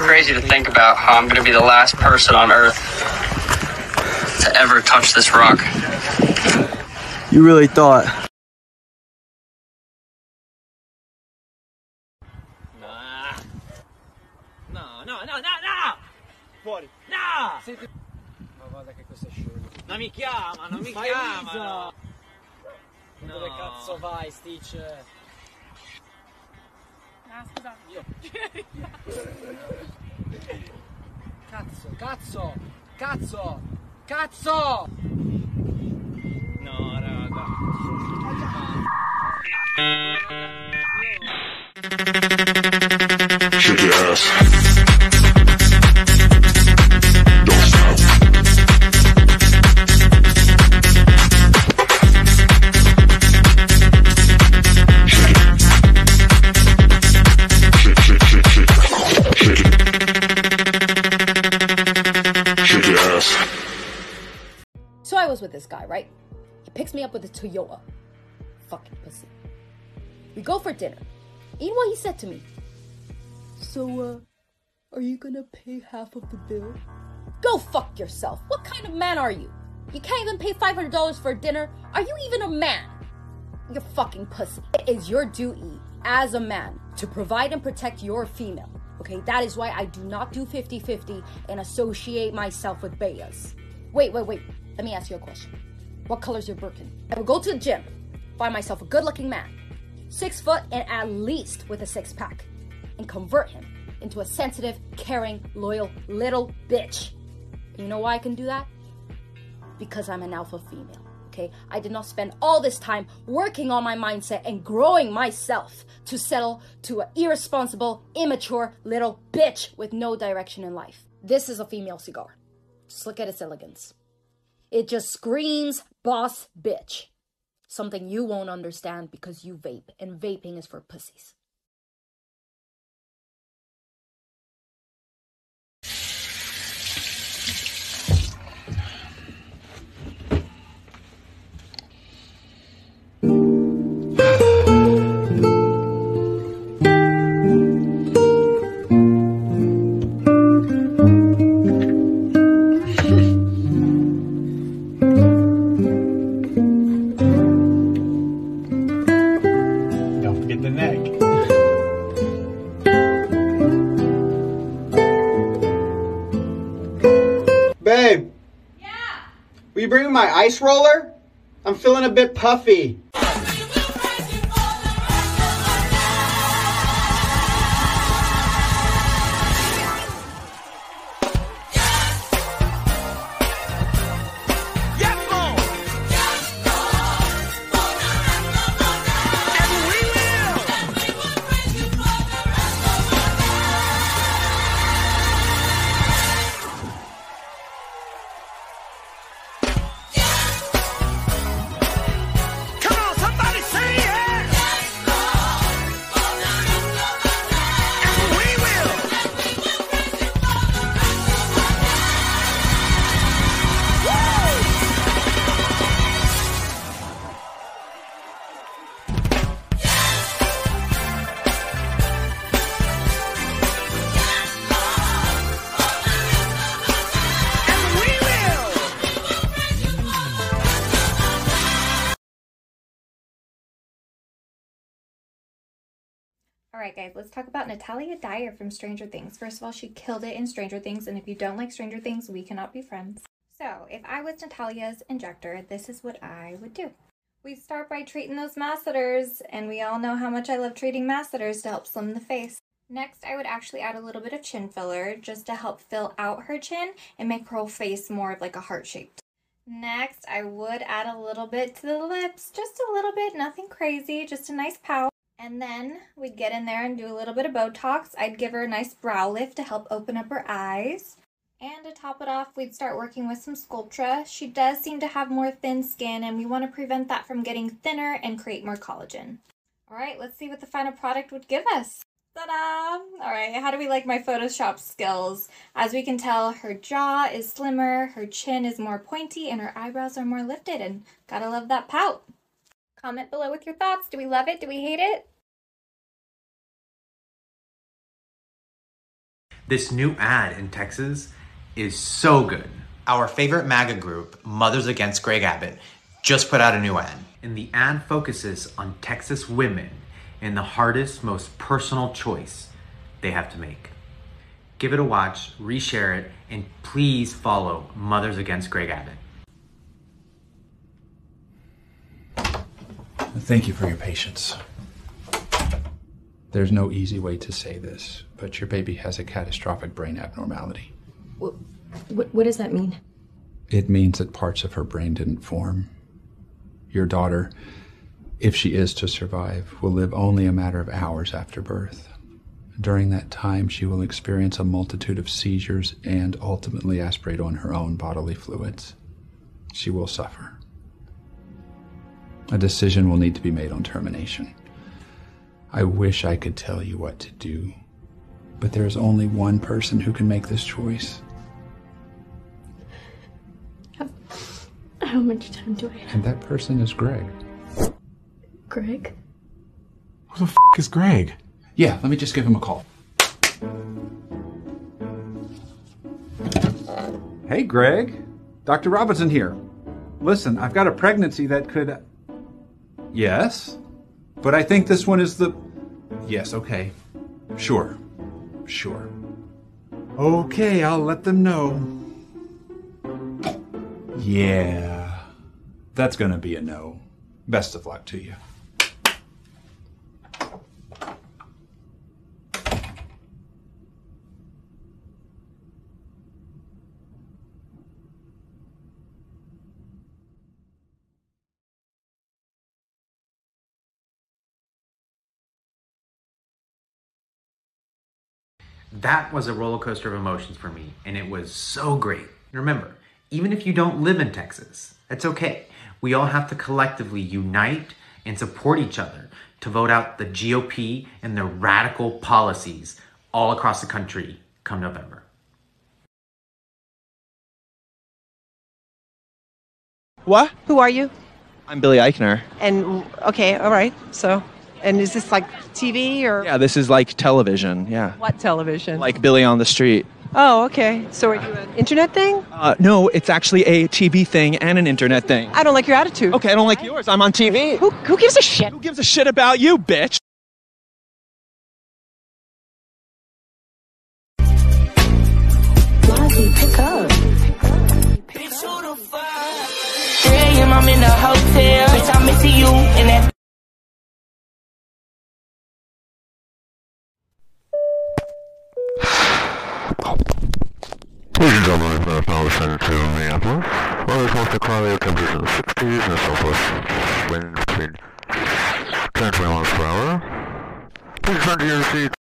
Crazy to think about how I'm gonna be the last person on Earth to ever touch this rock. You really thought? No! Fuori! No! Ma guarda che questo è scemo. Non mi chiamano! No. Dove cazzo vai, Stitch? Ah, scusa. Io. Cazzo! No, raga. Shake your ass. Don't stop. Shake it. Shake it. Shake your ass. So I was with this guy, right? He picks me up with a Toyota. Fucking pussy. We go for dinner. You know what he said to me? So, are you gonna pay half of the bill? Go fuck yourself. What kind of man are you? You can't even pay $500 for dinner? Are you even a man? You're fucking pussy. It is your duty as a man to provide and protect your female. Okay, that is why I do not do 50-50 and associate myself with bayas. Wait. Let me ask you a question. What color's your Birkin? I will go to the gym, find myself a good-looking man, 6 foot and at least with a 6-pack, and convert him into a sensitive, caring, loyal little bitch. And you know why I can do that? Because I'm an alpha female, okay? I did not spend all this time working on my mindset and growing myself to settle to an irresponsible, immature little bitch with no direction in life. This is a female cigar. Just look at its elegance. It just screams boss bitch. Something you won't understand because you vape, and vaping is for pussies. Babe. Yeah? Will you bring me my ice roller? I'm feeling a bit puffy. Alright guys, let's talk about Natalia Dyer from Stranger Things. First of all, she killed it in Stranger Things, and if you don't like Stranger Things, we cannot be friends. So, if I was Natalia's injector, this is what I would do. We start by treating those masseters, and we all know how much I love treating masseters to help slim the face. Next, I would actually add a little bit of chin filler just to help fill out her chin and make her whole face more of like a heart-shaped. Next, I would add a little bit to the lips, just a little bit, nothing crazy, just a nice pout. And then we'd get in there and do a little bit of Botox. I'd give her a nice brow lift to help open up her eyes. And to top it off, we'd start working with some Sculptra. She does seem to have more thin skin, and we want to prevent that from getting thinner and create more collagen. Alright, let's see what the final product would give us. Ta-da! Alright, how do we like my Photoshop skills? As we can tell, her jaw is slimmer, her chin is more pointy, and her eyebrows are more lifted, and gotta love that pout. Comment below with your thoughts. Do we love it? Do we hate it? This new ad in Texas is so good. Our favorite MAGA group, Mothers Against Greg Abbott, just put out a new ad. And the ad focuses on Texas women and the hardest, most personal choice they have to make. Give it a watch, reshare it, and please follow Mothers Against Greg Abbott. Thank you for your patience. There's no easy way to say this, but your baby has a catastrophic brain abnormality. What does that mean? It means that parts of her brain didn't form. Your daughter, if she is to survive, will live only a matter of hours after birth. During that time, she will experience a multitude of seizures and ultimately aspirate on her own bodily fluids. She will suffer. A decision will need to be made on termination. I wish I could tell you what to do, but there is only one person who can make this choice. How much time do I have? And that person is Greg. Greg? Who the f*** is Greg? Yeah, let me just give him a call. Hey, Greg. Dr. Robinson here. Listen, I've got a pregnancy that could... Yes? But I think this one is the... Yes, okay. Sure. Okay, I'll let them know. Yeah. That's gonna be a no. Best of luck to you. That was a roller coaster of emotions for me, and it was so great. And remember, even if you don't live in Texas, that's okay. We all have to collectively unite and support each other to vote out the GOP and their radical policies all across the country come November. What? Who are you? I'm Billy Eichner. And, okay, all right, so, and is this like TV or? Yeah, this is like television, yeah. What television? Like Billy on the Street. Oh, okay. So are you an internet thing? No, it's actually a TV thing and an internet thing. I don't like your attitude. Okay, I don't like yours. I'm on TV. Who gives a shit? Who gives a shit about you, bitch? Pick up. 3 a.m. I'm in the hotel. Bitch, I'm missing you in that. Ladies and gentlemen, it's been power center to Minneapolis. Weather's mostly cloudy, temperatures in the 60s and a southwest wind between 10 and 20 miles per hour. Please return to your seats.